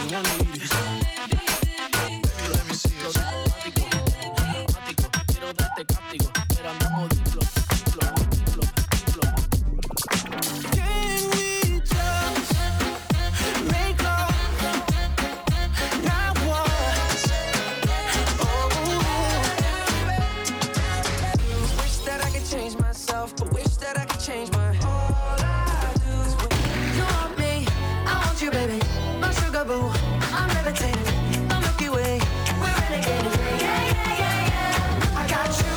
I need it. Let me see it. Ático, quiero darte castigo, pero andamos diplo. Can we just make love, not once? Wish that I could change myself, but wish that I could change my all I do is when you want me, I want you, baby. My sugar boo, I'm levitating. The Milky Way, we're renegading. Yeah. I got you.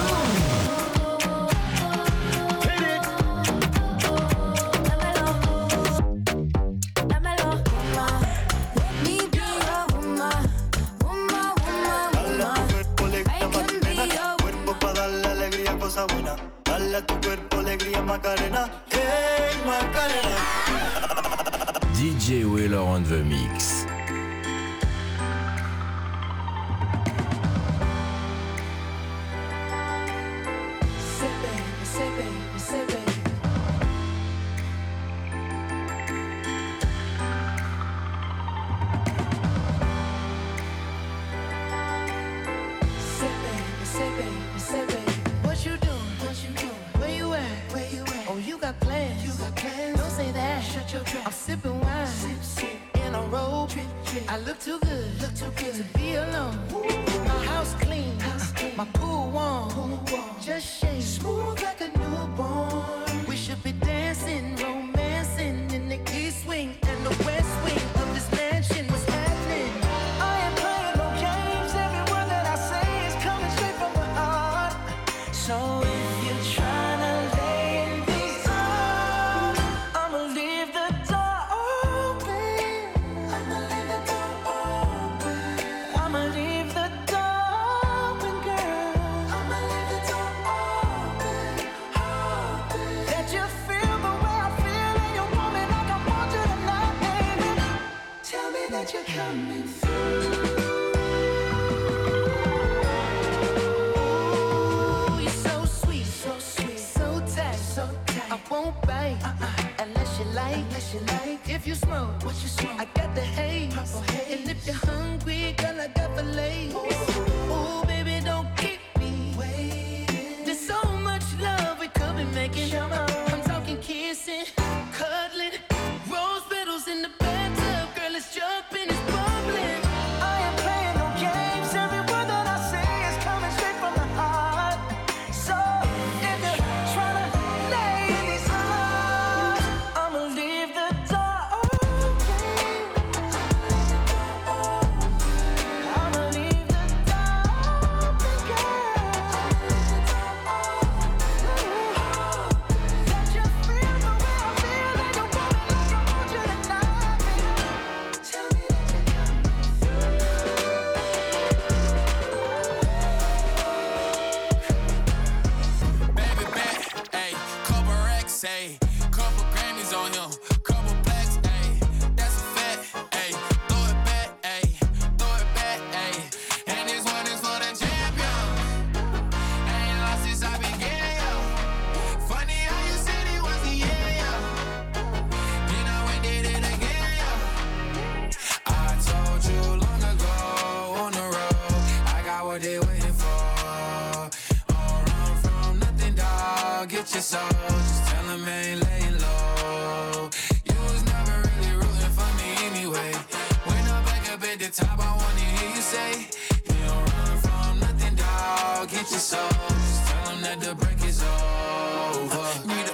Dale a tu cuerpo alegría Macarena, hey Macarena. DJ Wheeler on the mix. Say baby. Say baby. What you doing? Where you at? Oh, you got plans. Don't say that. Shut your trap. I'm sipping wine. Sip. In a robe. I look too good to be alone. My house clean. My pool warm. Just shake. Smooth like a newborn. We should be dancing, romancing in the east wing and the west wing of this mansion. What's happening? I ain't playing no games. Every word that I say is coming straight from my heart. So if you're tryna lay in these arms, I'ma leave the door open. I'ma leave the door open, girl. I'ma leave the door open. That you feel the way I feel and you want me like I want you tonight, baby. Tell me that you're coming through. I won't bite unless you like. If you smoke, what you smoke? I got the haze. And if you're hungry, girl, I got fillets. Ooh, baby, don't keep me waiting. There's so much love we could be making. I'm talking kissing, cuddling, rose petals in the bathtub. Girl, it's jumping, it's bubbling. I ain't playing no games. Every word that I say is coming straight from the heart. So if you're tryna lay in these arms, I'ma leave the door open. I'ma leave the door open, girl. That you feel the way I feel and you want me like I want you tonight. Tell me that you're coming through. Baby back, ayy, couple racks, ayy, couple Grammys on him, couple plaques, ayy, that's a fact, ayy, throw it back, ayy, and this one is for the champion, ain't lost since I began, yo, funny how you said it was the year, yo, then I went did it again, yo, I told you long ago, on the road, I got what they waiting for. Get your soul, just tell him I ain't laying low. You was never really rooting for me anyway. When I'm back up at the top, I wanna hear you say, you don't run from nothing, dog. Get your soul, just tell him that the break is over.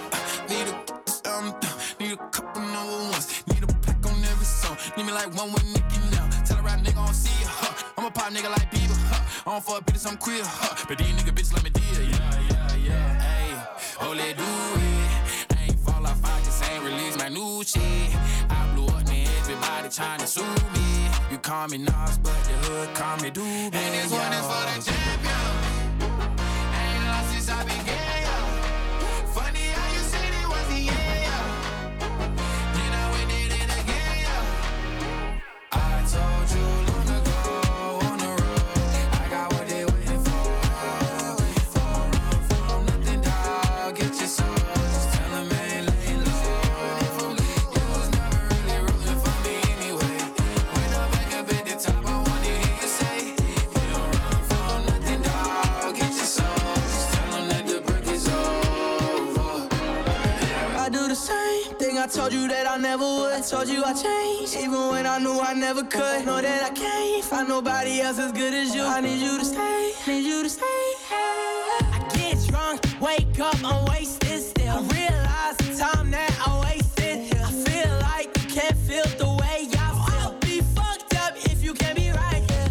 Need a couple number ones. Need a pack on every song. Need me like one with Nicki now. Tell a rap nigga I don't see ya, I'm a pop nigga like Bieber, I don't fuck bitches, I'm queer, but these nigga bitches let me deal, yeah, ayy. Oh, let do it. I ain't fall off, I just ain't release my new shit. I blew up, man, everybody tryna sue me. You call me Nas, but the hood call me Doobie. And this one is for the champion. Ain't lost since I began, yo. Funny how you said it was the end, yo. Then I went did it again, yo. I told you long ago on the road, I got what they waiting for. Don't run from nothing, dog. Get your soul, just tell them I ain't laying low. You was never really rooting for me anyway. When I'm back told you that I never would. I told you I changed, even when I knew I never could. Know that I can't find nobody else as good as you. I need you to stay, need you to stay. I get drunk, wake up, I'm wasted still. I realize the time that I wasted here. I feel like you can't feel the way I feel. I'll be fucked up if you can't be right here.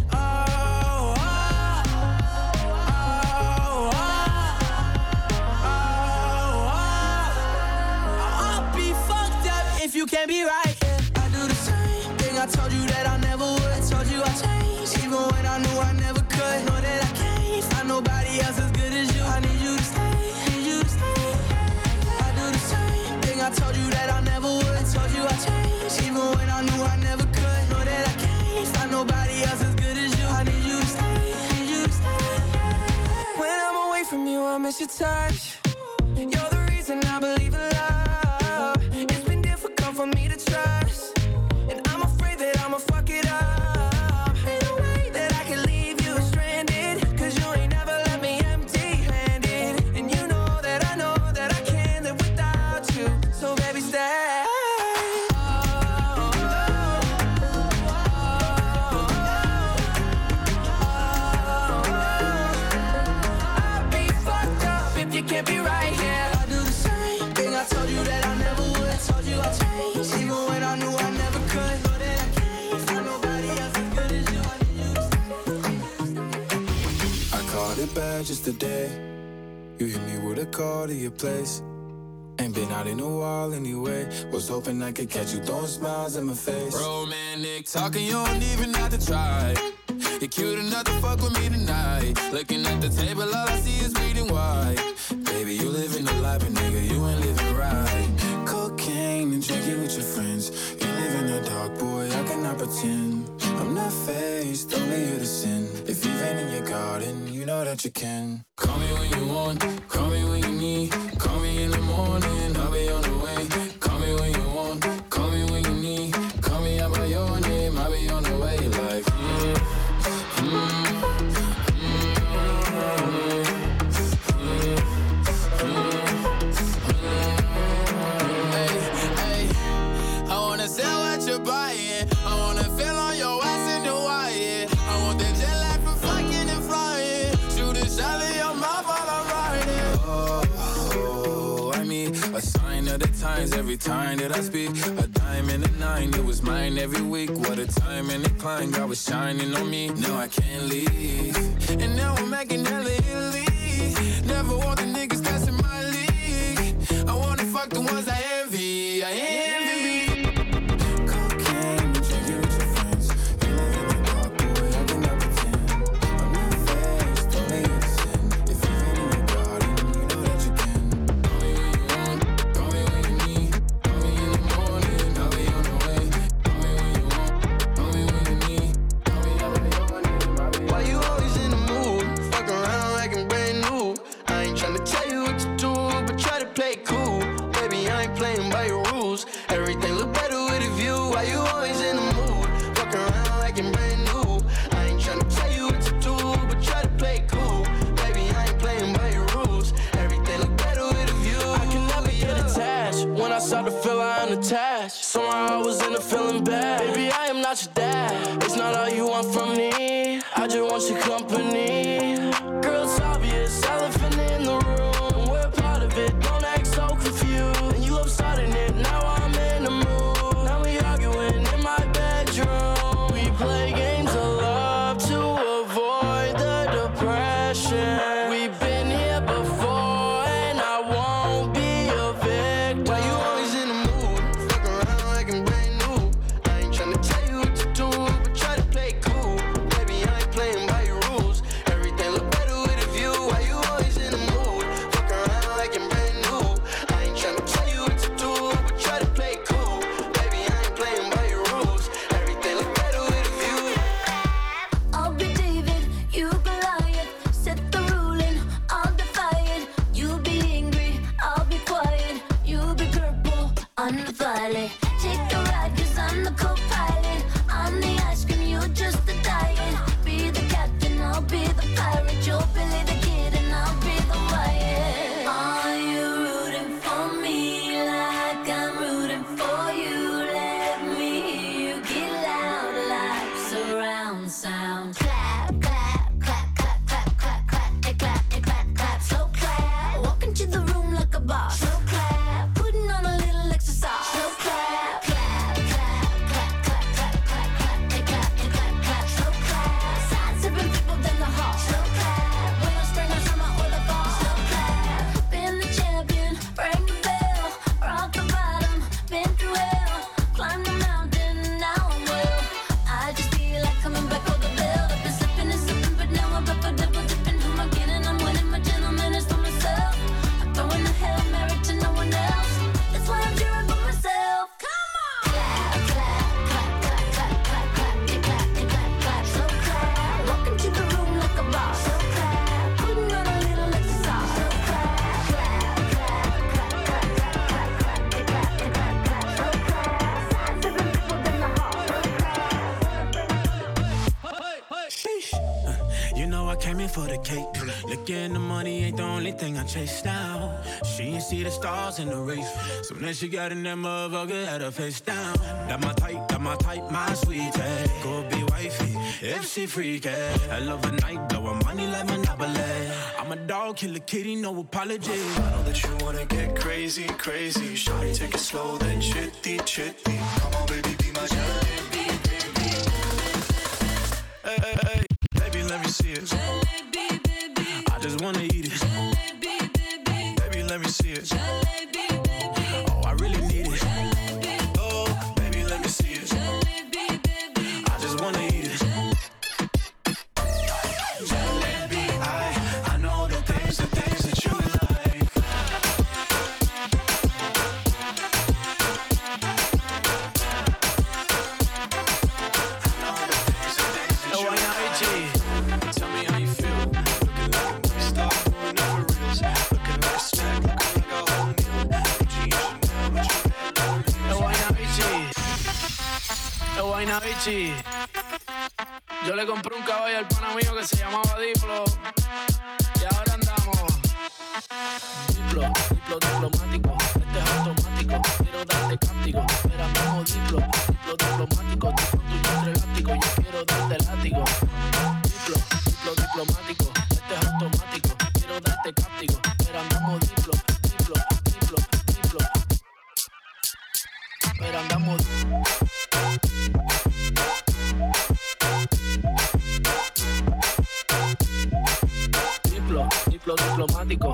I'll be fucked up if you can't be right here. I do the same thing, I told you that I never would. I told you I changed, even when I knew I never could. Know that I can't find nobody else as good as you. I need you to stay, need you to stay. I do the same thing, I told you that I never would. I told you I changed, even when I knew I never could. Know that I can't find nobody else as good as you. I need you to stay, need you to stay. When I'm away from you, I miss your touch. You're the reason I believe in love. It's been difficult for me to trust, and I'm afraid that I'ma fuck it up. Ain't no way that I can leave you stranded, cause you ain't never left me empty-handed. And you know that I can't live without you. So baby, stay. I'll be fucked up if you can't be right here. I do the same thing, I told you that I never would. I told you I changed, even when I knew I never could. Know that I can't find nobody else as good as you. I need you to stay. I called it bad just today. You hit me with a call to your place. Ain't been out in a while anyway. Was hoping I could catch you throwing smiles in my face. Romantic talking, you don't even have to try. You're cute enough to fuck with me tonight. Looking at the table, all I see is bleeding white. Baby, you living the life, but nigga, you ain't living right. Cocaine and drinking with your friends. You live in the dark, boy, I cannot pretend. I'm not faced, only here to sin. If you've been in your garden, you know that you can. Call me when you want, call me when you need. Call me in the morning, I'll be on the way. Call me when you want, call me when you need. Call me out by your name, I'll be on the way. Like, I wanna sell what you're buying. I wanna feel on your ass in Hawaii. I want that jet lag from fucking and flying. Shoot a shot in your mouth while I'm riding. Oh, I mean, a sign of the times every time that I speak. A dime and a nine, it was mine every week. What a time and a climb, God was shining on me. Now I can't leave. And now I'm making hella Italy. Never want the niggas that's in my league. I wanna fuck the ones I envy. I envy. Cocaine and drinking with your friends. You live in the dark, boy, I cannot pretend. I'm not faced, only here to sin. If you've been in your garden, you know that you can. Call me when you want, call me when you need. Call me in the morning, I'll be on the way. Call me when you want, call me when you need. Call me out by your name, I'll be on the way. Why you always in the mood? Fuck around like I'm brand new. I ain't tryna tell you what to do, but try to play it cool. Baby, I ain't playing by your rules. Everything look better with a view. Why you always in the mood? Fuck around like I'm brand new. I ain't tryna tell you what to do, but try to play it cool. Baby, I ain't playing by your rules. Everything look better with a view. I can never get attached. When I start to feel I am attached, somehow I was in a feeling bad. Baby, I am not your dad. It's not all you want from me. I just want your company. Girl, it's obvious, elephant in the room. We're part of it, don't act so confused. And you love starting it, now I'm in the mood. Now we arguing in my bedroom. We play games of love to avoid the depression. We've been here before, and I won't be a victim. Why you always in the mood? Fuck around like I'm brand new. I ain't tryna tell you what to do, but try to play it cool. Baby, I ain't playing by your rules. Everything know I came in for the cake. Looking the money ain't the only thing I chase now. She ain't see the stars in the race. Soon as she got in that motherfucker, had her face down. That my type, my sweetie. Go be wifey, if she freaky. I love a night, blowin' money like Monopoly. I'm a dog, kill a kitty, no apology. I know that you wanna get crazy, crazy. Shawty, take it slow, then chitty, chitty. Come on, baby, be my jalebi, baby. Hey, hey, hey, baby, let me see it. Jalebi, baby. I just wanna eat it. Jalebi, baby. Baby, let me see it. Jalebi, baby. Oh, I really need it. Jalebi. Oh, baby, let me see it. Jalebi, baby. I just wanna eat it. Jalebi, I know the things that you like. Oh, why not, AG? Tell me how you feel. Looking like a movie star, doing over reels. Looking like a snack, looking like a whole meal. Oh, why not, AG? Oh, why not, AG? Yo le compré un caballo al pana mío que se llamaba Diplo. Y ahora andamos. Diplo, diplomático. Este es automático. Quiero darte cáptico. Pero andamos diplo, diplomático. Tipo tuyo entre elástico. Yo quiero darte látigo. Diplomático. Este es automático. Quiero darte cáptico. Pero andamos diplo. Pero andamos diplomático.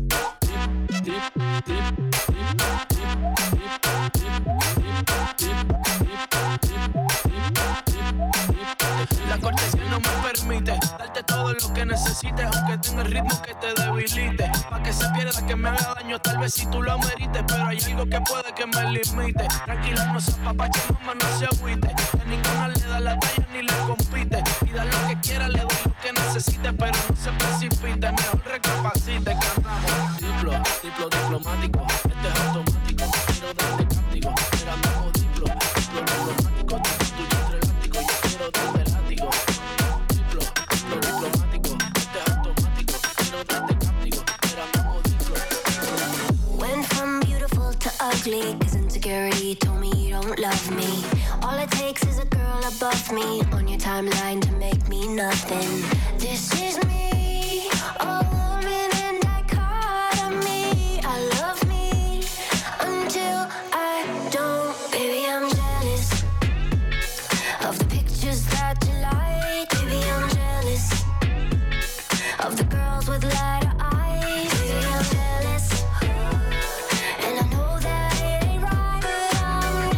La cortesía no me permite darte todo lo que necesites, aunque tenga el ritmo que te debilite. Pa' que se pierda, que me haga daño, tal vez si tú lo merites. Pero hay algo que puede que me limite. Tranquila, no se apapache, mamá, no se agüite. A ninguna le da la talla ni le compite. Y da lo que quiera, le doy lo que necesite. Pero no se precipite, mejor recapacite. Que andamos diplomático. Este es automático, quiero darte cáptico. Pero andamos diplomático. Tuyo entre elástico, yo quiero darte látigo. Diplomático, este es automático, quiero darte cáptico. Pero andamos Went from beautiful to ugly, 'cause insecurity told me you don't love me. All it takes is a girl above me on your timeline to make me nothing. This is me, a woman in dichotomy. I love me until I don't. Baby, I'm jealous of the pictures that you like. Baby, I'm jealous of the girls with lighter eyes. Baby, I'm jealous, and I know that it ain't right, but I'm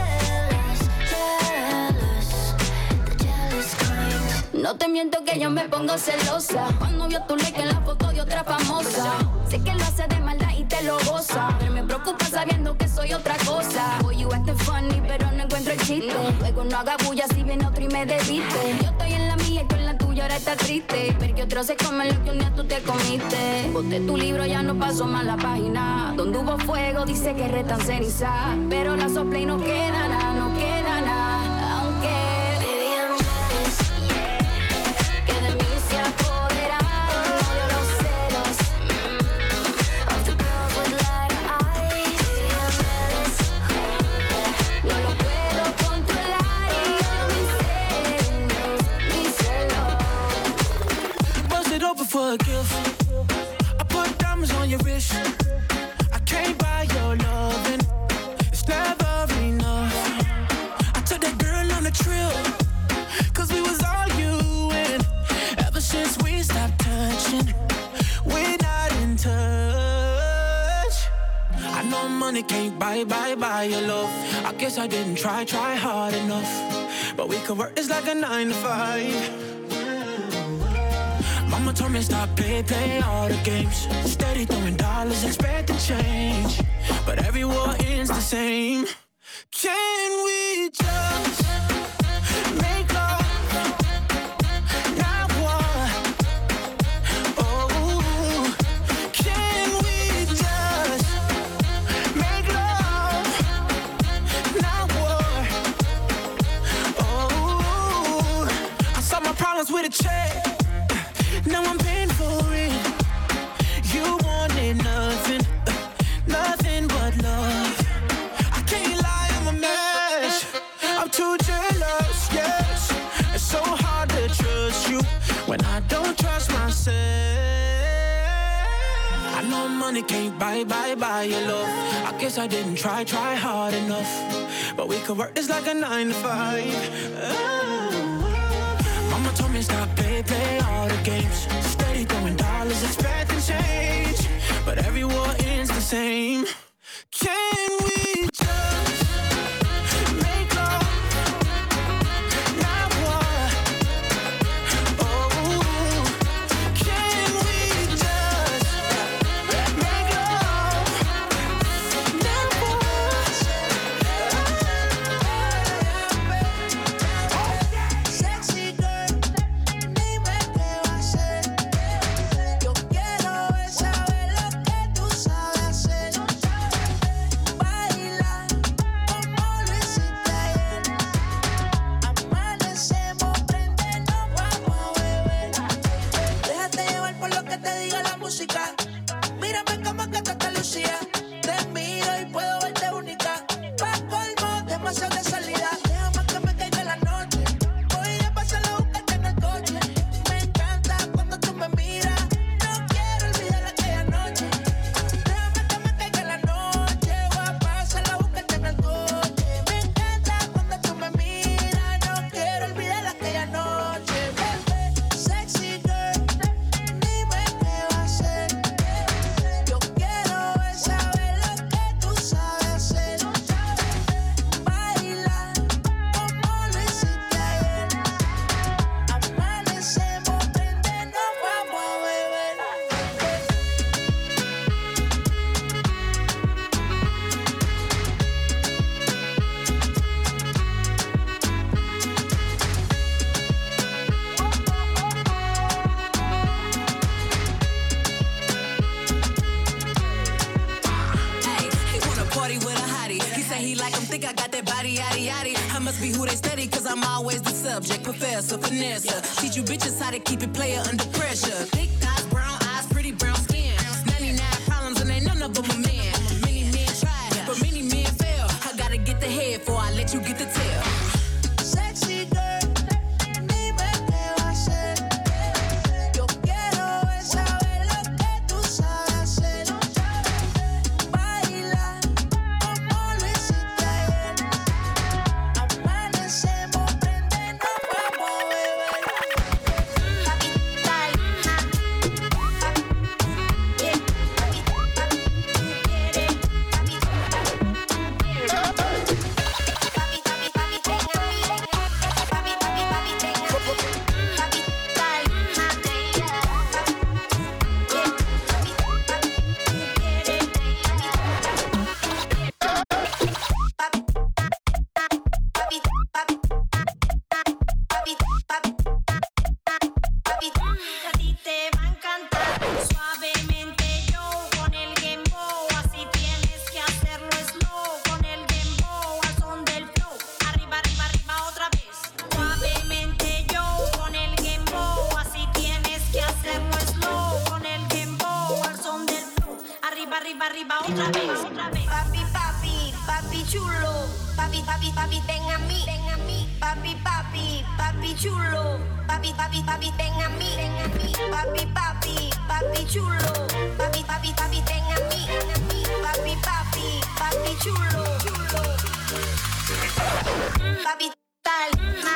jealous, the jealous kind. No te miento que yo me pongo celosa cuando vio tu like en la foto de otra famosa. Sé que lo hace de maldad y te lo goza, pero me preocupa sabiendo que soy otra cosa. Boy, you acting funny, pero no encuentro el chiste. Luego no haga bulla si viene otro y me desviste. Yo estoy en la mía y tú en la tuya, ahora está triste. Ver que otro se come lo que un día tú te comiste. Boté tu libro, ya no paso más la página. Donde hubo fuego, dice que restan ceniza. Pero la sopla y no queda nada, no queda nada. Aunque Baby, I'm jealous que de mí se apoderaron odio los celos. of the girls with lighter eyes. Baby, I'm jealous. No lo puedo controlar y mis celos. Bust it open for a gift. I put diamonds on your wrist. I can't buy your loving. It's never enough. I took that girl on a trip, 'cause we was arguing. Ever since we stopped touching, we're not in touch. I know money can't buy your love. I guess I didn't try hard enough. But we could work this like a 9 to 5. Mama told me stop play all the games. Steady throwing dollars, expecting change. But every war ends the same. Can we just make love, not war? Oh, can we just make love, not war? Oh, I saw my problems with a check. when I don't trust myself. I know money can't buy your love. I guess I didn't try hard enough. But we could work this like a 9 to 5. Mama told me stop, play all the games. Steady throwing dollars, expecting change. But every war ends the same. Can we just make love, not war? Oh, can we just make love, not war? Sexy girl, dime qué va a hacer. Yo quiero saber lo que tú sabes hacer. Baila como lo hiciste ayer. Amanecemos, prendernos, vamos a beber. Déjate llevar por lo que te diga la música. Mírame como que te lucía. Te miro y puedo verte única. Pa' colmo, demasiado de salida. Déjame que me caiga la noche. Voy a pasar a buscarte en el coche. Me encanta cuando tú me miras. No quiero olvidar aquella noche. Déjame que me caiga la noche. Voy a pasar a buscarte en el coche. Me encanta cuando tú me miras. No quiero olvidar aquella noche. Bebé, sexy girl, dime qué va a hacer. Yo quiero saber lo que tú sabes hacer. Baila como lo hiciste ayer. Amanecemos, prendernos, vamos a beber. Hey, he wanna party with a hottie. He say he like him, think I got that body, yaddy, yaddy. I must be who they study, cause I'm always the subject. Professor, finesse. Teach you bitches how to keep it player under pressure. Thick eyes, brown eyes, pretty brown skin. 99 problems and ain't none of them a man. Many men try, but many men fail. I gotta get the head before I let you get the tail. Sexy girl, dime qué va a hacer. Yo quiero saber lo que tú sabes hacer. Baila como lo hiciste ayer. Amanecemos, prendernos, vamos a beber. Capital, a ti te va a encantar. Suavemente yo con el dembow, así tienes que hacerlo slow. Con el dembow al son del flow. Arriba, arriba, arriba otra vez. Suavemente yo con el dembow, así tienes que hacerlo slow. Con el dembow al son del flow. Arriba, arriba, arriba otra vez. Papi, papi, papi chulo. Papi, papi, papi, ten a mí, ten a mí. Papi, papi, papi chulo. Papi, papi, papi, ten a mí, ten a mí. Papi, papi, papi chulo. Papi, papi, papi, ten a mí, ten a mí. Papi, papi, papi chulo, chulo. Papi, tal,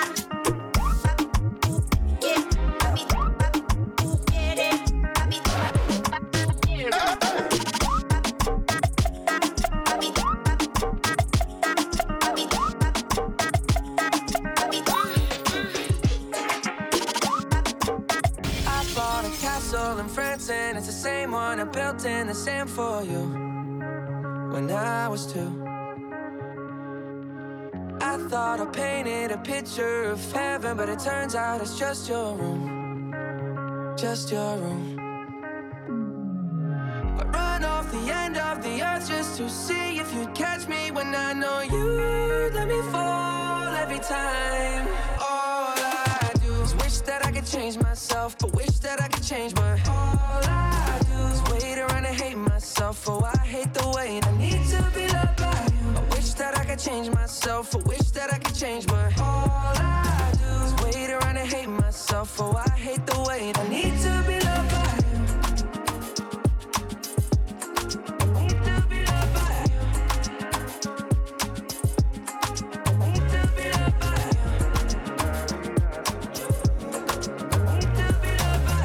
papi, papi, quiere, papi, I bought a castle in France and it's the same one I built in the sand for you when I was 2. I thought I painted a picture of heaven, but it turns out it's just your room, just your room. I run off the end of the earth just to see if you'd catch me when I know you let me fall every time. All I do is wish that I could change myself, but wish that I could change my. All I do is wait around and hate myself. Oh, I hate the way I need to be loved by you. I wish that I could change myself, but wish that I could change my. All I do is wait around and hate myself. myself. Oh, I hate the wait. I need to be loved by you. Need to be loved by you. Need to be loved by you. Need to be loved by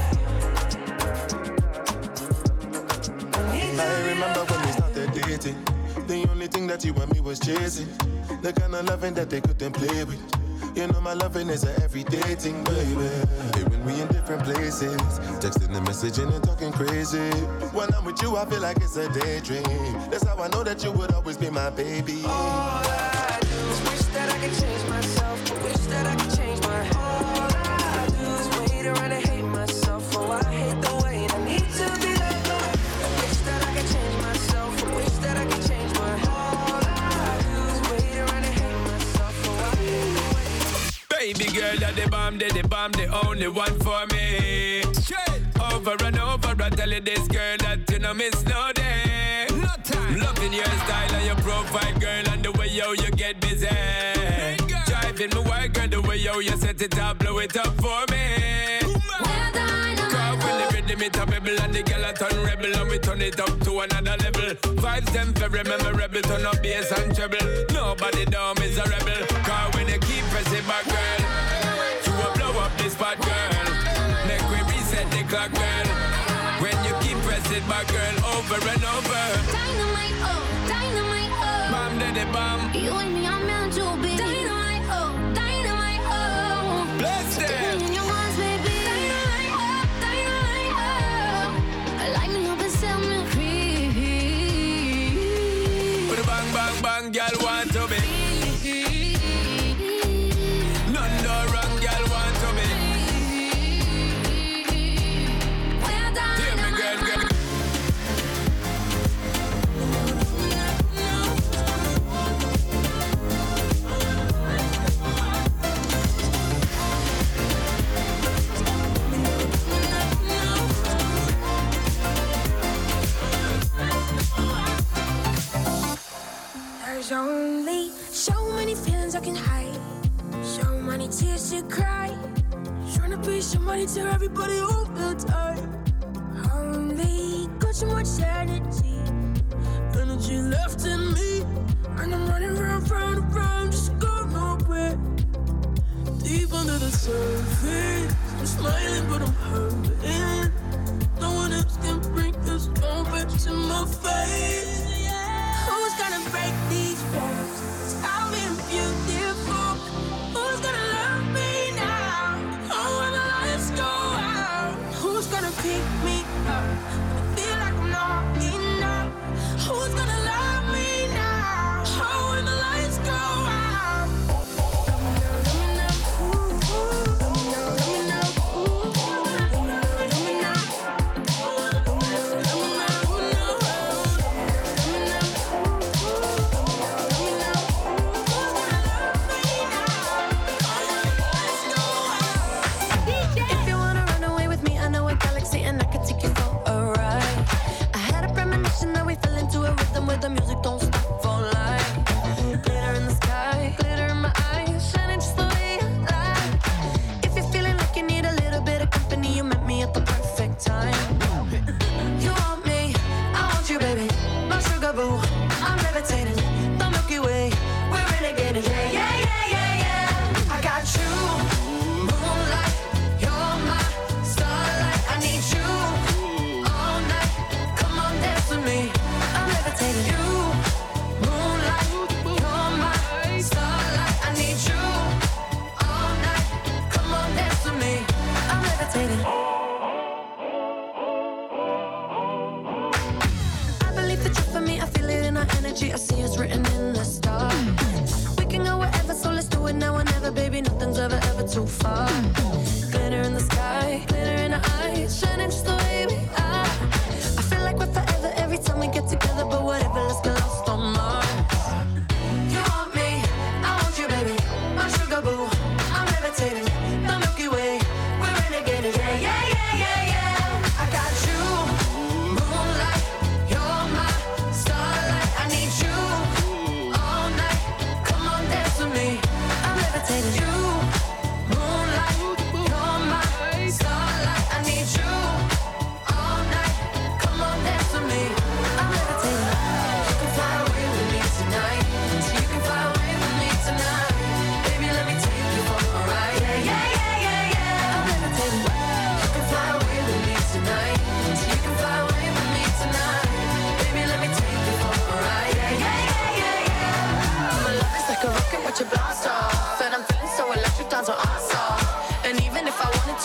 you. I remember when we started dating. The only thing that you and me was chasing. The kind of loving that they couldn't play with. You know my loving is an everyday thing, baby. Hey, when we in different places, texting and messaging and talking crazy. When I'm with you, I feel like it's a daydream. That's how I know that you would always be my baby. All I do is wish that I could change myself. Wish that I could change my heart. All I do is wait around and hate myself. Oh, I hate the wait. I need to be loved. I wish that I could change myself. I wish that I could change my heart. All I do is wait around and hate myself. Oh, I hate the wait. Baby girl, you're the bomb, the only one for me. Straight over and over, I tell you this girl that you know miss no day. No time. Loving your style and your profile, girl, and the way yo you get busy. Driving me wild, girl, the way yo you set it up, blow it up for me. Cause when the rhythm it a pebble and the girl a turn rebel and we turn it up to another level. Vibes them very memorable, turn up bass and treble. Nobody down is a rebel. Cause when you keep pressing back, girl, you will blow up this spot, girl. Make we reset the clock, girl. When you keep pressing back, girl, over and over. Dynamite, oh, dynamite, oh. Bomb daddy bomb. You and me are meant to be. Dynamite, oh, dynamite, oh. Bless them. Take me in your arms, baby. Dynamite, oh, dynamite, oh. Light me up and set me free. Put a bang, bang, bang, girl want to be. None no wrong, girl want to be. We're Hear me, girl, girl. There's only so many feelings I can hide, so many tears to cry. Trying to be somebody to everybody all the time. Only got so much energy left in me, and I'm running round, just going nowhere. Deep under the surface, I'm smiling but I'm hurting. No one else can bring this moment to my face. Who's gonna break these walls? I've been beautiful. Who's gonna love me now? Oh, when the lights go out. Who's gonna pick me up? I feel like I'm not enough. Who's gonna love me now? Oh, when the lights go out. Let me know, ooh, ooh. Let me know, ooh, let me know. If you wanna run away with me, I know a galaxy and I can take you for a ride. I had a premonition that we fell into a rhythm where the music don't stop for life. Glitter in the sky, glitter in my eyes, shining just the way you like. If you're feeling like you need a little bit of company, you met me at the perfect time. You want me, I want you, baby. My sugar boo, I'm levitating. The Milky Way, we're renegading. Yeah, yeah, yeah, yeah, yeah. I got you, moonlight. You're my starlight. I need you all night. Come on, dance with me. I'm levitating. You, moonlight. You're my starlight. I need you all night. Come on, dance with me. I'm levitating. I believe that you're for me. I feel it in our energy. I see it's written in the stars. We can go wherever, so let's do it now or never, baby. Nothing's ever too far. Glitter in the sky, glitter in our eyes, shining just the way we are. I feel like we're forever every time we get together, but whatever, let's get lost on Mars. You want me, I want you, baby. My sugar boo, I'm levitating. The Milky Way, we're renegading. Yeah, yeah, yeah, yeah, yeah. I got you, moonlight. You're my starlight. I need you all night. Come on, dance with me. I'm levitating. You, moonlight. You're my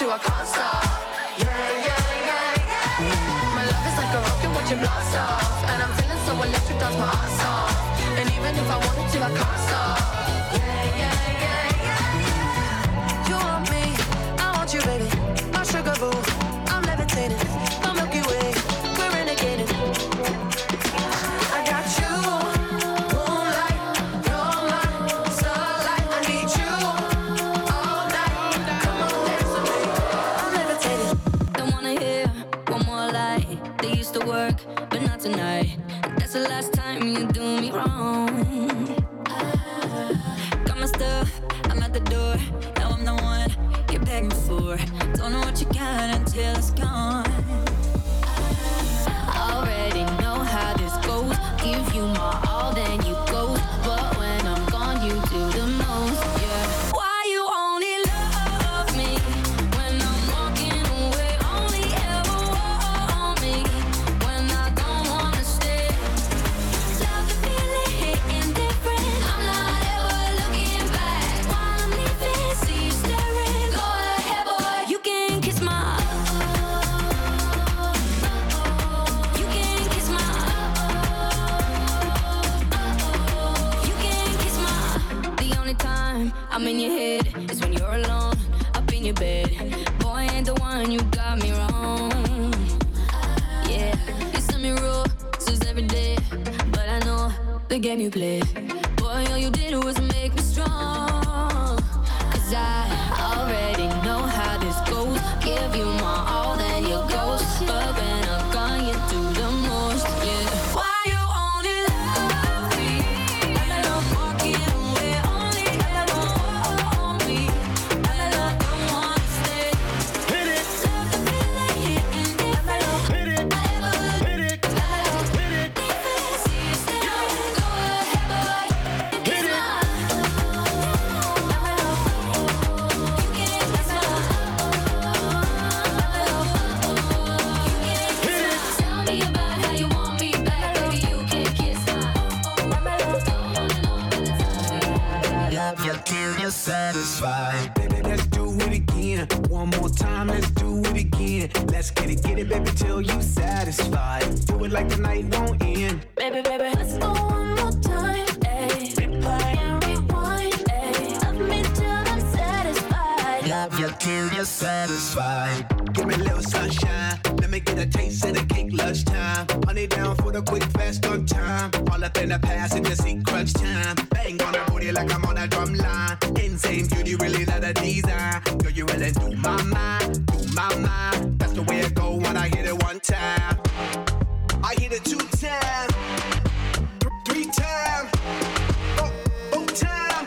you, I can't stop. Yeah, yeah, yeah, yeah. My love is like a rocket watching blast off, and I'm feeling so electric, that's my ass off. And even if I wanted to, I can't stop. Yeah, yeah, yeah, yeah. You want me, I want you, baby. My sugar boo, I'm levitating. My Milky Way, we're renegading. I got you, moonlight, you're my starlight. I need you all night. Come on, dance with me. I'm levitating. Don't wanna hear one more lie. They used to work, but not tonight. That's the last time you do me wrong. Got my stuff, I'm at the door. Now I'm the one you're begging for. Don't know what you got until it's gone. Already know how this goes. Give you my all, then you go. But when I'm gone, you do the most, yeah. Why you only love me when I'm walking away? Only ever want me when I don't wanna stay. Love the feeling hitting different. I'm not ever looking back. While I'm leaving, see you staring. Go ahead, boy, you can kiss my. You can kiss my. You can kiss my. The only time I'm in your head is when you're alone, up in your bed. Boy, ain't the one, you got me wrong. Yeah, you send me roses every day, but I know the game you play. Boy, all you did was make me strong. 'Cause I already know how this goes. Give you my all, then you ghost. But when I'm gone, you do the most, yeah. Why you only love me when I'm walking away? Only ever want me when I don't wanna stay. Hit it, Love the feeling hitting different. hit it, I ever hit it, hit it, see you staring. Go ahead, boy, you hit kiss it. my. You can kiss my. Tell me about how you want me back, baby. You can kiss my. Love you till you're satisfied. Baby, let's do it again. One more time, let's do it again. Let's get it, baby, till you satisfied. Do it like the night won't end. Baby, let's go one more time, ayy. Replay and rewind, ayy. Love me till I'm satisfied. Love you till you're satisfied. Give me a little sunshine. Let me get a taste of the cake lunchtime. Honey down for the quick, fast on time. All up in the past and just see crunch time. Bang on the booty like I'm on a drum line. Insane beauty, really not a design. Girl, you really do my mind, do my mind. That's the way it go when I hit it one time. I hit it 2 times, 3 times, 4 times.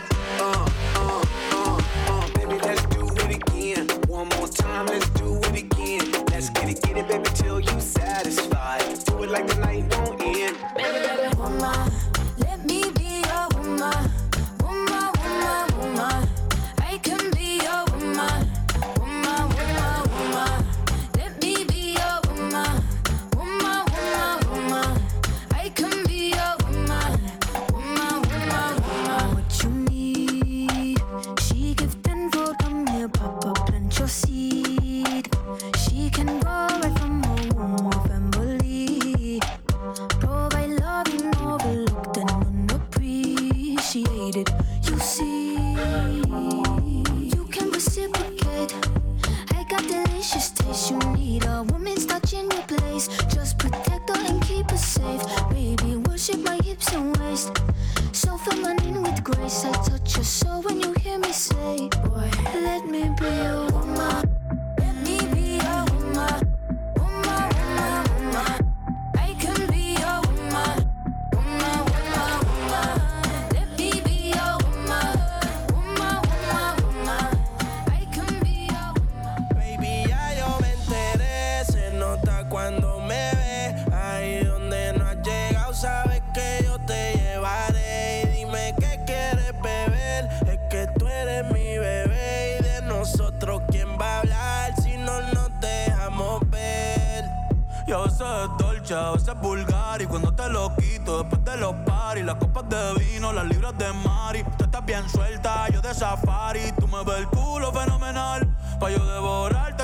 Baby, let's do it again. One more time, let's do it again. Let's get it, baby, till you satisfied. Do it like the night won't end. Baby, Woman, let me be your woman. Woman, woman, woman. I can be your woman. Woman, woman, woman. Let me be your woman. Woman, woman, woman. I can be your woman. Woman, woman, woman. What you need? She give tenfold, come here, Papa, plant your seed. She can go right from her womb of family. Provide love you overlooked and unappreciated. You see, you can reciprocate. I got delicious taste. You need a woman's touch in your place. Just protect her and keep her safe. Baby, worship my hips and waist. So feminine with grace. I touch your soul when you hear me say, boy, let me be your woman. Let me be your woman. Woman, woman, woman. I can be your woman. Woman, woman, woman. Let me be your woman. Woman, woman, woman. I can be your woman. Baby, ya yo me enteré. Se nota cuando me ve. Ahí donde no has llegado, sabes que yo te llevaré. Y dime qué quieres beber. Es que tú eres mi bebé. Y de nosotros, ¿quién va a hablar si no nos dejamos ver? Y a veces es dolce, a veces es vulgar. Y cuando te lo quito, después de los paris, las copas de vino, las libras de Mari. Tú estás bien suelta, yo de safari. Tú me ves el culo fenomenal, pa' yo devorarte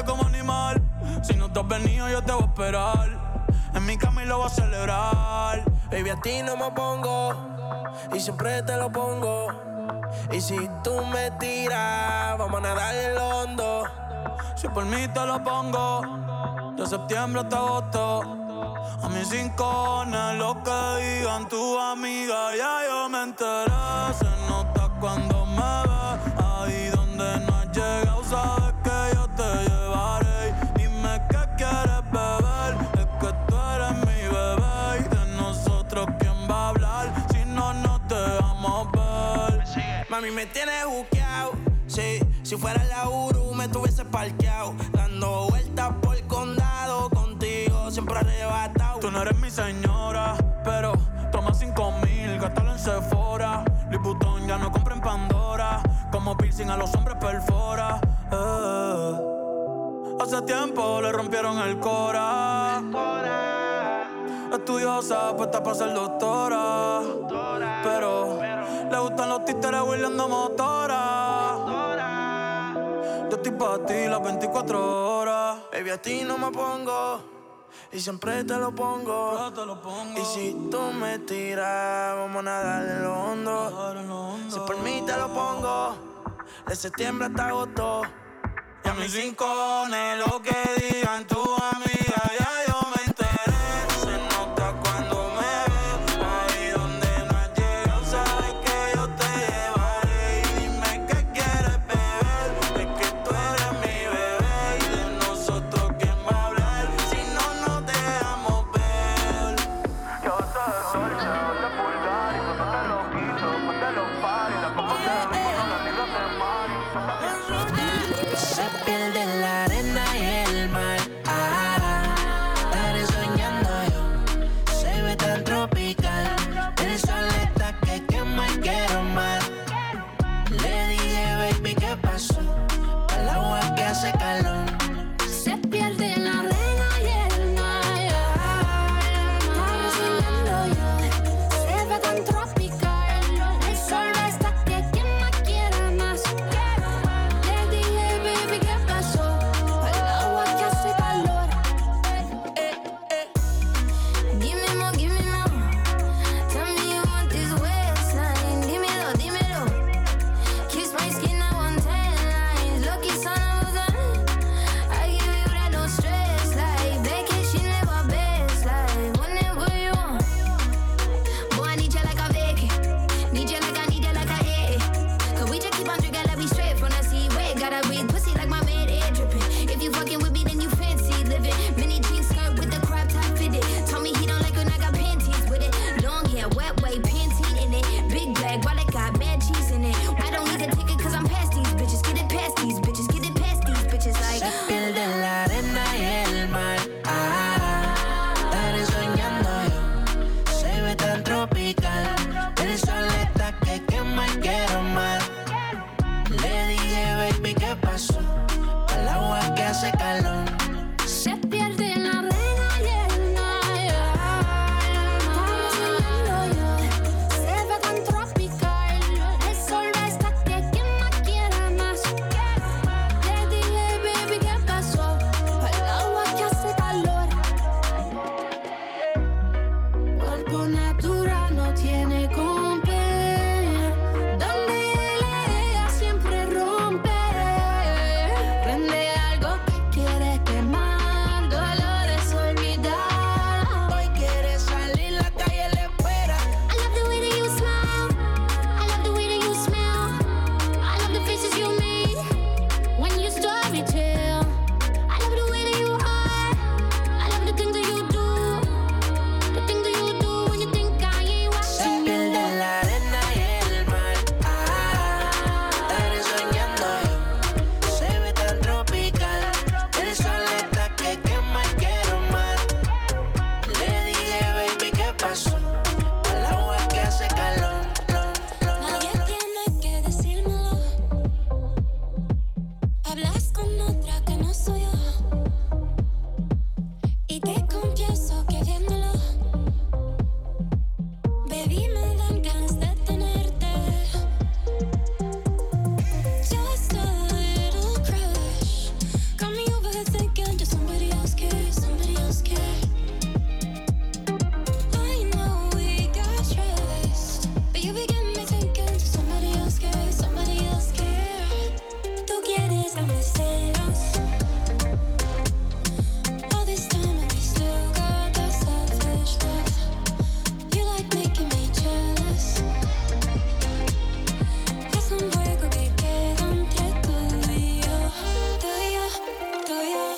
Si no te has venido, yo te voy a esperar. En mi cama y lo voy a celebrar. Baby, a ti no me pongo y siempre te lo pongo. Y si tú me tiras, vamos a nadar en el hondo. Si por mí te lo pongo, de septiembre hasta agosto. A mis rincones, lo que digan tu amiga, ya yo me enteré. Se nota cuando me ves, ahí donde no has llegado, sabes que yo te llevaré. Dime qué quieres beber, es que tú eres mi bebé. Y de nosotros, ¿quién va a hablar si no nos dejamos ver? Mami, me tienes buqueado, sí. Si fuera la Uru, me tuviese parqueado. Dando vueltas por el condado, contigo siempre arrebatado. Tú no eres mi señora, pero toma 5,000, gástalo en Sephora. Liputón ya no compra en Pandora, como piercing a los hombres perfora. Hace tiempo le rompieron el cora. Estudiosa, puesta para ser doctora. Pero le gustan los títeres huirleando motora. Yo estoy pa' ti las 24 horas. Baby, a ti no me pongo y siempre te lo pongo. Y si tú me tiras, vamos a nadar en lo hondo. Si por mí te lo pongo, de septiembre hasta agosto. Y a mis rincones, lo que digan tu amiga, ya yo me enteré. Se nota cuando me ves, ahí donde no has llegado, sabes que yo te llevaré. Y dime qué quieres beber, es que tú eres mi bebé. Y de nosotros, ¿quién va a hablar si no nos dejamos ver? Yo te dolce, te pulgar y cuando te lo quito, ponte los paris, las copas de vino, las libras de mar. Se pierde en la arena y el mar. Estaré soñando yo. Se ve tan tropical. El sol está que quema y quiero más. Le dije, baby, ¿qué pasó? El agua que hace calor. Se pierde en la arena y el mar. Estaré soñando yo. Se ve tan tropical. El sol está que quema y quiero más. Le dije, baby, ¿qué pasó? El agua que hace calor. Give me more. Tell me you want this waistline. Dímelo, dímelo. Kiss my skin, I want 10 lines. Lucky son of a gun. I give you that no stress. Like vacation, live our best life. Whenever you want. Boy, I need you like a vacay. Need you like I need you like a A. Cause we just keep on drinking like we straight from the seaway. Gotta breathe pussy like my maid air dripping. If you fucking with me, then you fancy living. Mini jeans skirt with the crop top fitted. Told me he don't like when I got panties with it. Long hair, wet way, Pantene in it. Big bag, wallet got mad cheese in it. I don't need a ticket cause I'm past these bitches. Get it past these bitches. Get it past these bitches like. Se pierde en la arena y el mar. Estaré soñando yo. Se ve tan tropical. El sol está que quema y quiero más. Le dije, baby, ¿qué pasó? El agua que hace calor. Se pierde en la arena y el mar. Estaré soñando yo. Se ve tan tropical. El sol está que quema y quiero más. Le dije, baby, ¿qué pasó? El agua que hace calor. Cuerpo natural no tiene compare. Donde él ella siempre rompe. Prende algo que quiere get us. All this time and we still got that selfish love. You like making me jealous. Es un juego que queda entre tú y yo. Tú y yo, tú y yo.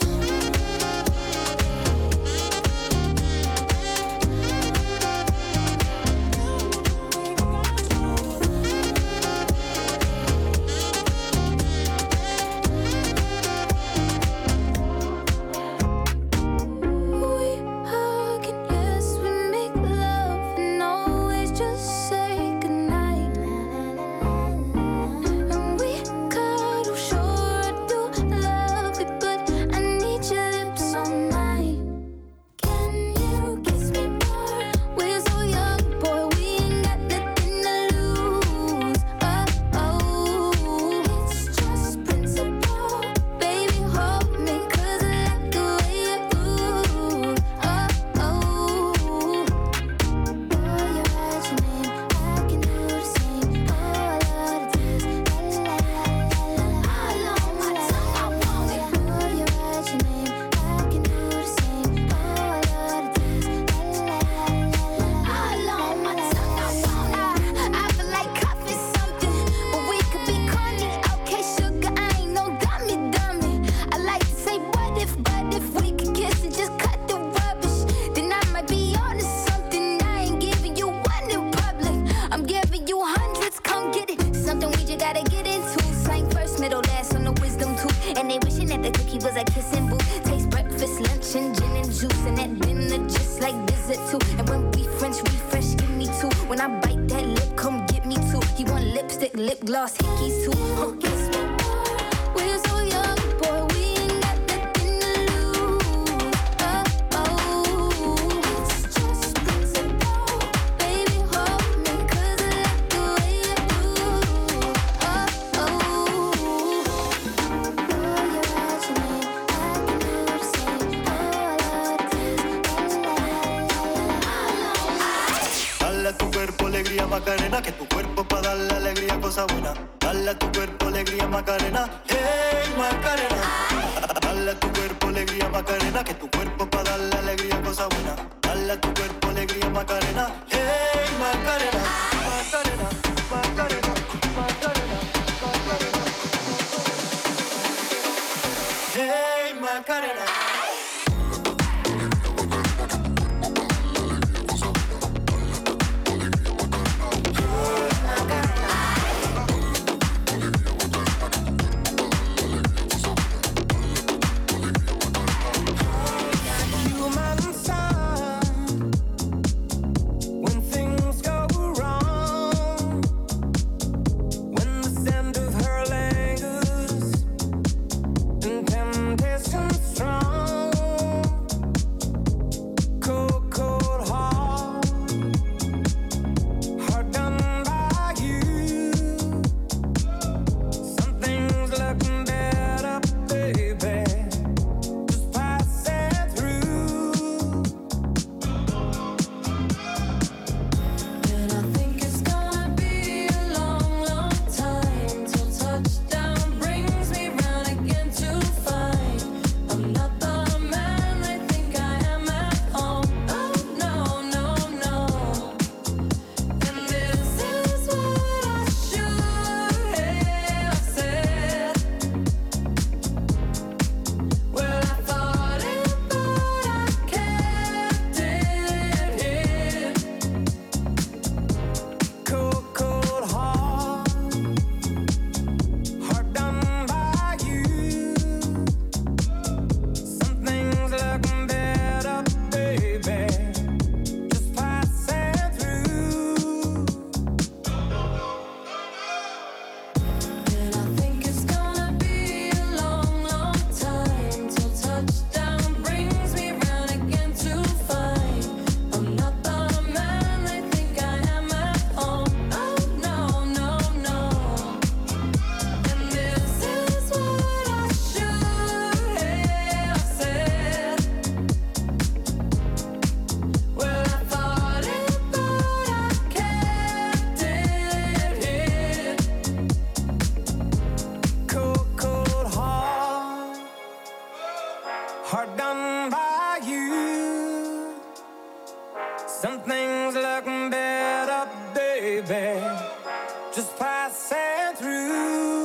Macarena, que tu cuerpo pa' darle alegría, cosa buena. Dale a tu cuerpo alegría, Macarena. Hey, Macarena. Dale a tu cuerpo alegría, Macarena, que tu cuerpo pa' darle alegría, cosa buena. Dale a tu cuerpo alegría, Macarena. Hey, Macarena. Macarena, Macarena, Macarena, Macarena. Hey, Macarena. Strong hard done by you. Some things look better, baby, just passing through.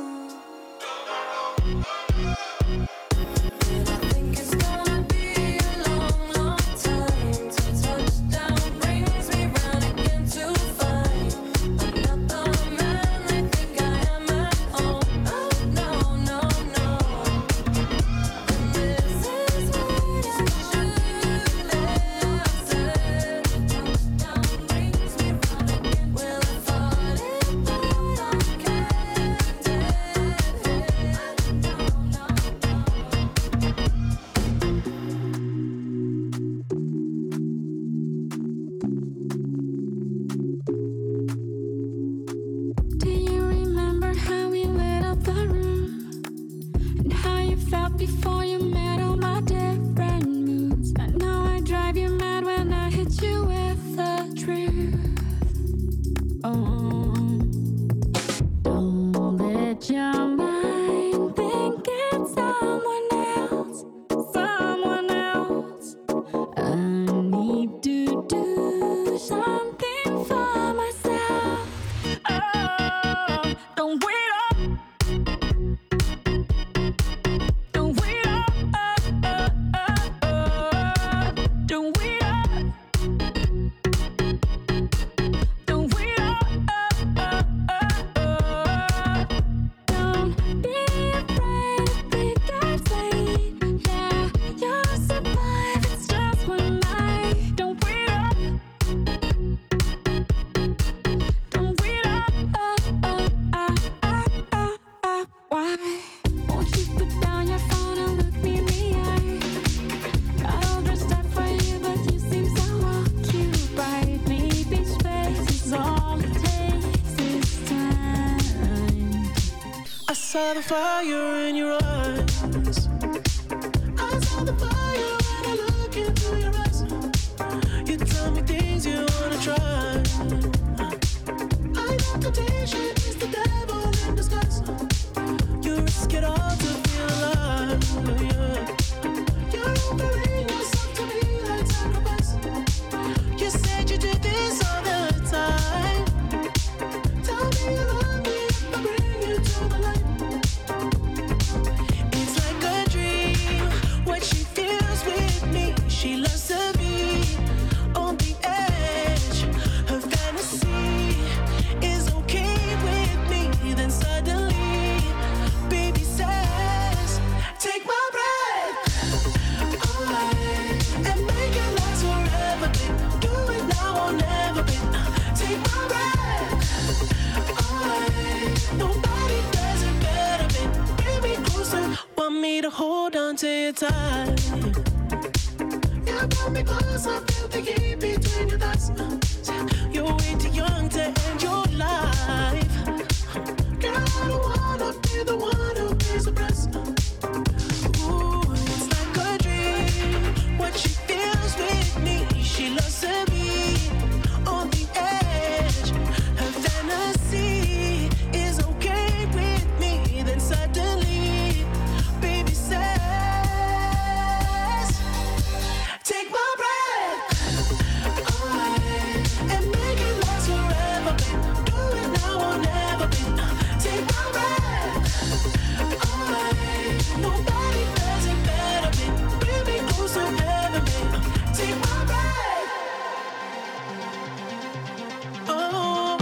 Before you met all my different moods, and now I drive you mad when I hit you with the truth. Oh, don't let your mind think it's someone else, someone else. I need to do something for myself. Oh, don't wait up. I saw the fire in your eyes. I saw the fire when I look into your eyes. You tell me things you wanna try. I know temptation is the devil in disguise. You risk it all to feel alive. Yeah. You're offering yourself to me like sacrifice. You said you did this all the time. Tell me you love me if I bring you to the light. It's like a dream, what she feels with me. She loves to be on the edge. Her fantasy is okay with me. Then suddenly, baby says, take my breath away and make it last forever, babe. Do it now or never, babe. Take my breath away. Nobody does it better, babe. Bring me closer, want me to hold on to you tight. Yeah, pull me closer, feel the heat between your thighs. You're way too young to end your life. Girl, I don't wanna be the one who pays the price. Ooh, it's like a dream, what she feels with me. She loves to be on the edge. Her fantasy is okay with me. Then suddenly, baby says, take my breath away and make it last forever, babe. Do it now or never, babe. Take my breath away. Nobody does it better, babe. Bring me closer, ever, babe. Take my breath. Oh.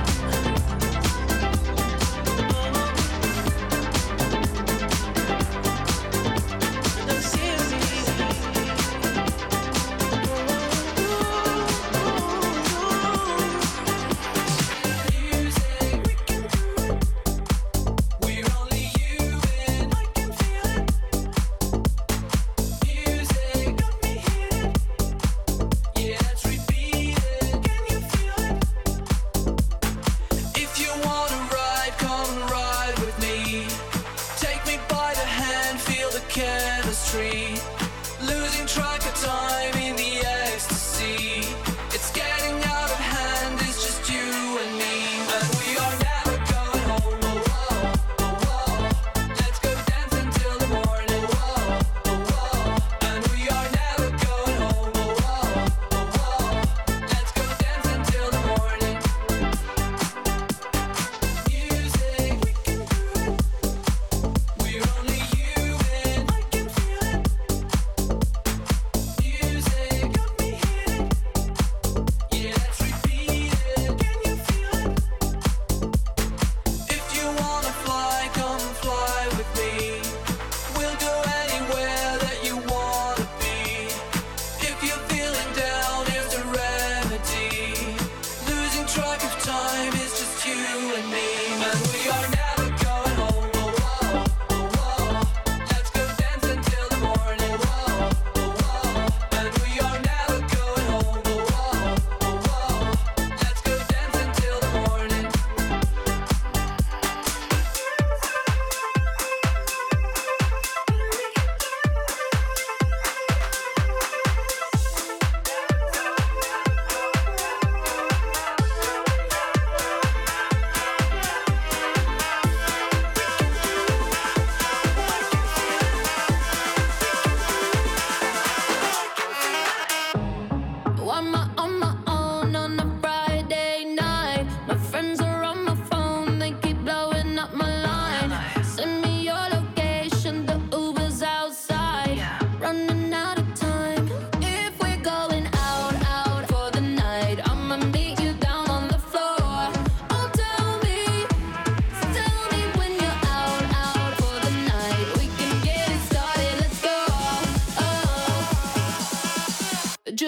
If you wanna ride, come and ride with me. Take me by the hand, feel the chemistry. Losing track of time in the ecstasy. It's getting out of hand, it's just you and me. And we are never going home. Oh, oh, oh, oh. Let's go dance until the morning. Oh, oh, oh.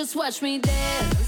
Just watch me dance.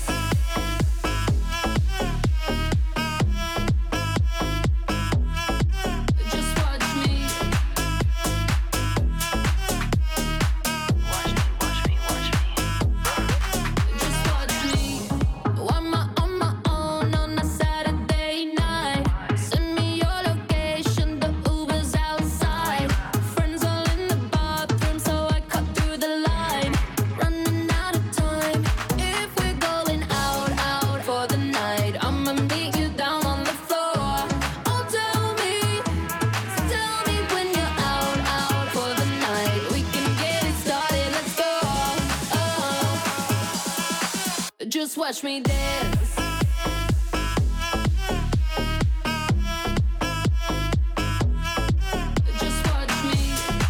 Just watch me dance. Just watch me.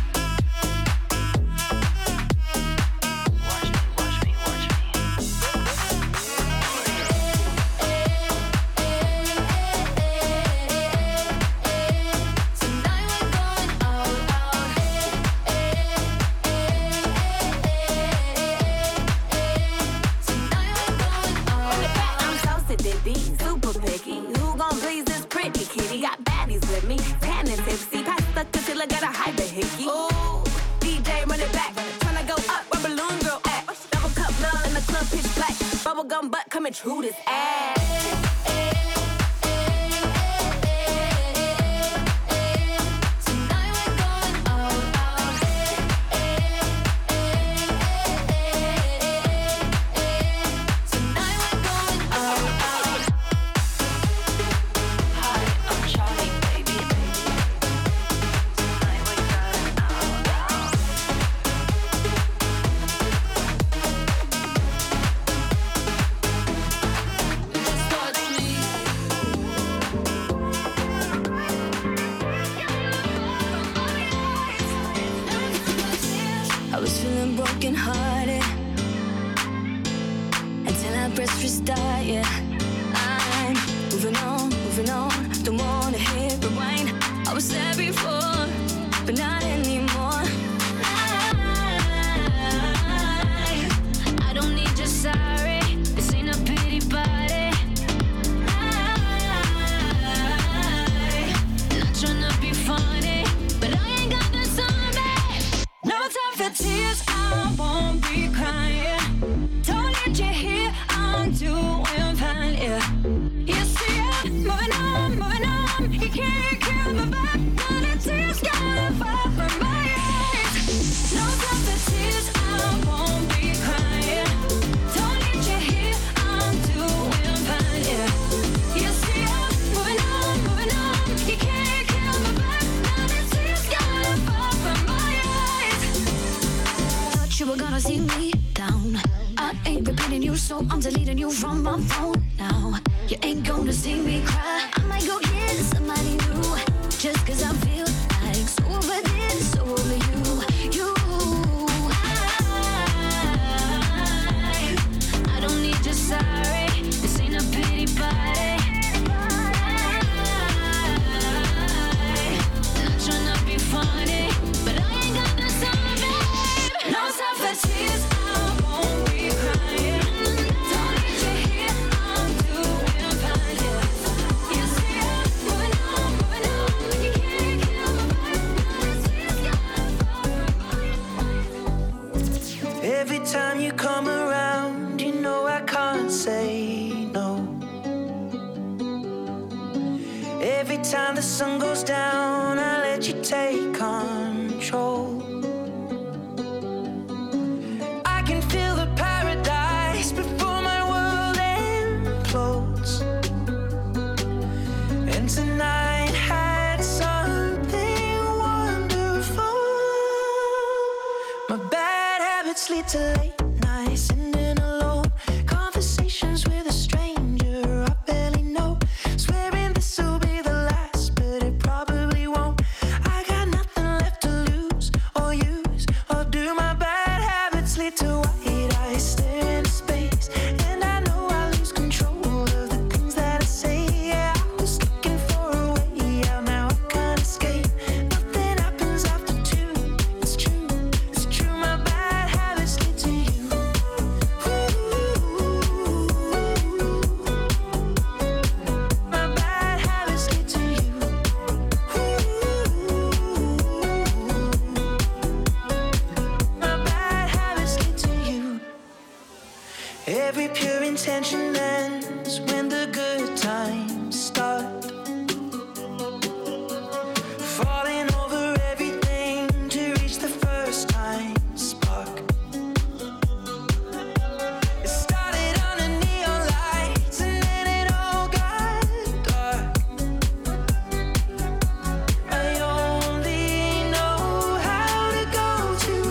Watch me. Tonight we're going out. Super picky. Who gon' please this pretty kitty? Got baddies with me, tan and tipsy. Pass the concealer, got a hyper hickey. Ooh, DJ run it back. Tryna go up where balloon girl at. Double cup love in the club, pitch black. Bubblegum butt coming true this ass. I was feeling broken hearted until I pressed restart, yeah. I'm moving on, don't wanna hit rewind. I was there before, but not anymore. I don't need your sorry, this ain't a pity party. Not tryna be funny, but I ain't got the time, babe. No time for tears, I won't be crying. Don't need you here, I'm doing fine, yeah. You see it, moving on. You can't kill my back, now the tears gotta fall from my eyes. No time for tears, I won't be crying. Don't need you here, I'm doing fine, yeah. You see it, moving on. You can't kill my back, now the tears gotta fall from my eyes. Thought you were gonna see me down. I ain't repeating you, so I'm deleting you from my phone now. You ain't gonna see me cry. I might go get somebody new, just cause I feel like so over this, so over you. I don't need your sorry, this ain't a pity party. Not tryna be funny, but I ain't got the time, babe. No time for tears, I won't be crying. Don't need you here, I'm doing fine, yeah. You see it, moving on. You can't kill my vibe, Every time you come around, you know I can't say no. Every time the sun goes down, I let you take control. I can feel the paradise before my world implodes. And tonight had something wonderful. My bad habits lead to late nights, sitting alone. Conversations with a stranger I barely know. Swearing this will be the last, but it probably won't. I got nothing left to lose or use or do. My bad habits lead to white eyes staring into space, and I know I lose control of the things that I say. Yeah, I was looking for a way out, now I can't escape. Nothing happens after two. It's true. My bad habits lead to you. first time spark. It started under neon lights and then it all got dark. I only know how to go too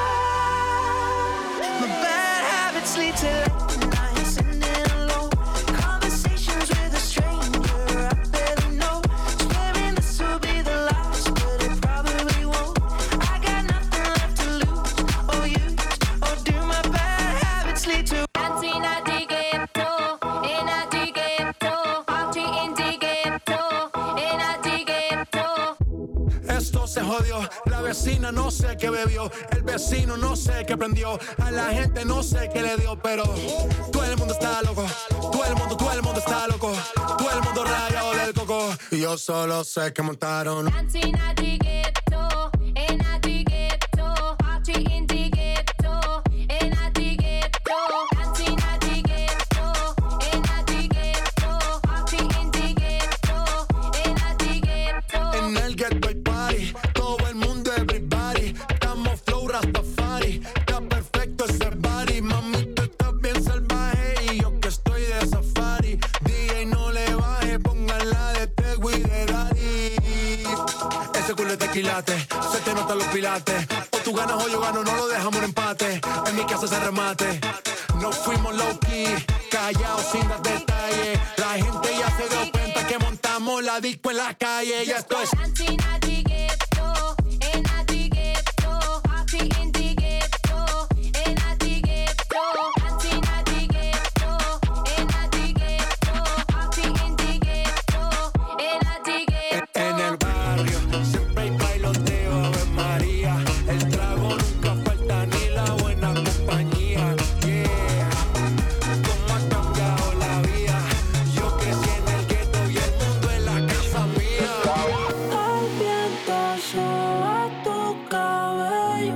far. My bad habits lead to late nights and then alone conversations with a stranger I barely know. Swearing this will be the last, but it probably won't. I got nothing left to lose or use or do. My bad habits lead to dancing at the ghetto, in at the ghetto, party in the ghetto, in at the ghetto. Esto se jodió, la vecina no sé qué bebió, el vecino no sé qué prendió, a la gente no sé qué le dio, pero todo el mundo está loco, todo el mundo está loco, todo el mundo rayado del coco, y yo solo sé que montaron. Dancing at the ghetto, in at the ghetto, party in the ghetto, in at the ghetto. Dancing at the ghetto, in at the ghetto, party in the ghetto, in at the ghetto. En el ghetto hay party, todo el mundo everybody, estamos flow Rastafari, está perfecto ese body, mami tú estás bien salvaje y yo que estoy de safari, DJ no le baje, pónganla de Tego y de Daddy. Ese culo es tequilate, se te notan los pilates, o tú ganas o yo gano, no lo dejamos en empate, en mi casa se remate, no fuimos low key, callados sin dar detalles, la gente ya se dio cuenta que montamos la disco en la calle, ya esto es. Dancing at the ghetto, in at the ghetto, party in the ghetto, in at the ghetto. Dancing at the ghetto, in at the ghetto, party in the ghetto, in at the ghetto. En el barrio siempre hay bailoteo, Ave María. El trago nunca falta ni la buena compañía. Yeah, cómo ha cambiado la vida. Yo crecí en el ghetto y el mundo es la casa mía. El viento soba tu cabello.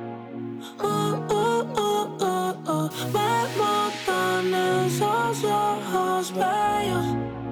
Me matan esos ojos bellos.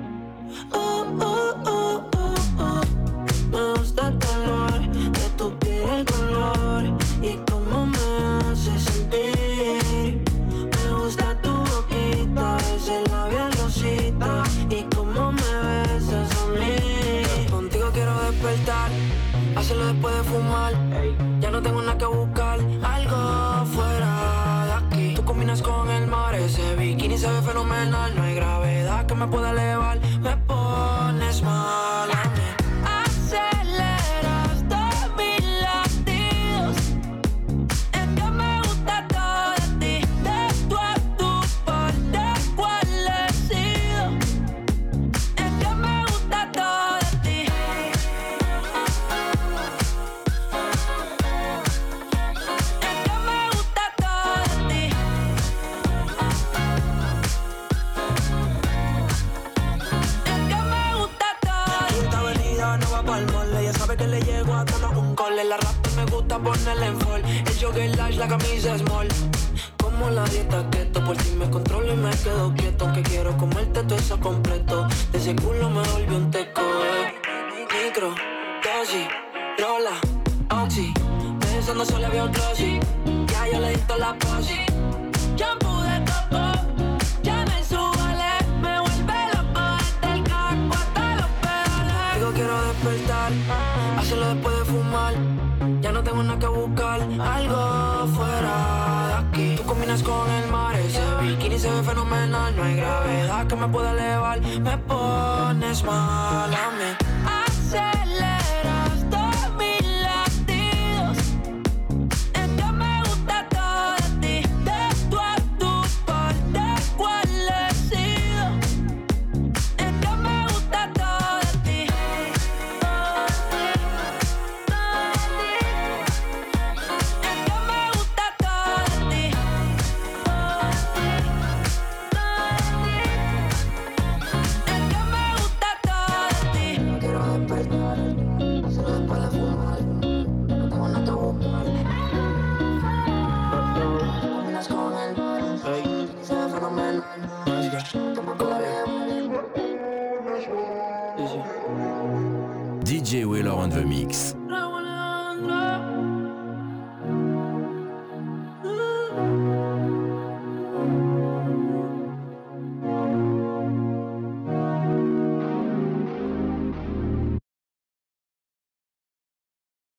Me gusta el color de tu piel, el color y cómo me hace sentir. Me gusta tu boquita, ese labial rosita y cómo me besas a mí. Contigo quiero despertar, hacerlo después de fumar. Ya no tengo nada que buscar, algo fuera de aquí. Tú combinas con el mar, ese bikini se ve fenomenal. No hay gravedad que me pueda elevar, me pones mal a mí. Aceleras todos mis latidos. Es que me gusta todo de ti, de tú a tu parte cuál he sido. Es que me gusta todo de ti. Es que me gusta todo de ti. Es que me gusta todo. Esta avenida no va pa'l mole, ella sabe que le llego a tono un cole. La rap me gusta ponerle en fall, el jogger large, la camisa small. Como la dieta keto, por ti me controlo y me quedo quieto. Que quiero comerte todo eso completo, de ese culo me volví un teco. Micro, dosis, rola, oxi, pensando solo veo glossy. Ya yo le di toda la posi. Shampoo de coco, ya me subale, me vuelve loco desde el caco hasta los pedales. Digo quiero despertar, hacerlo después de fumar. Ya no tengo nada que buscar, algo fuera de aquí. Tú combinas con el mar, ese bikini se ve fenomenal. No hay gravedad que me pueda elevar, me pones mal a mí. Aceleras todos mis latidos. Es que me gusta todo de ti, de tú a tu parte cuál he sido. Es que me gusta todo de ti. Es que me gusta todo de ti. Es que me gusta todo de ti. No quiero despertar, hacerlo después de fumar. No tengo nada que buscar. Combinas con el mar, se ve fenomenal. DJ Wheeler on the mix.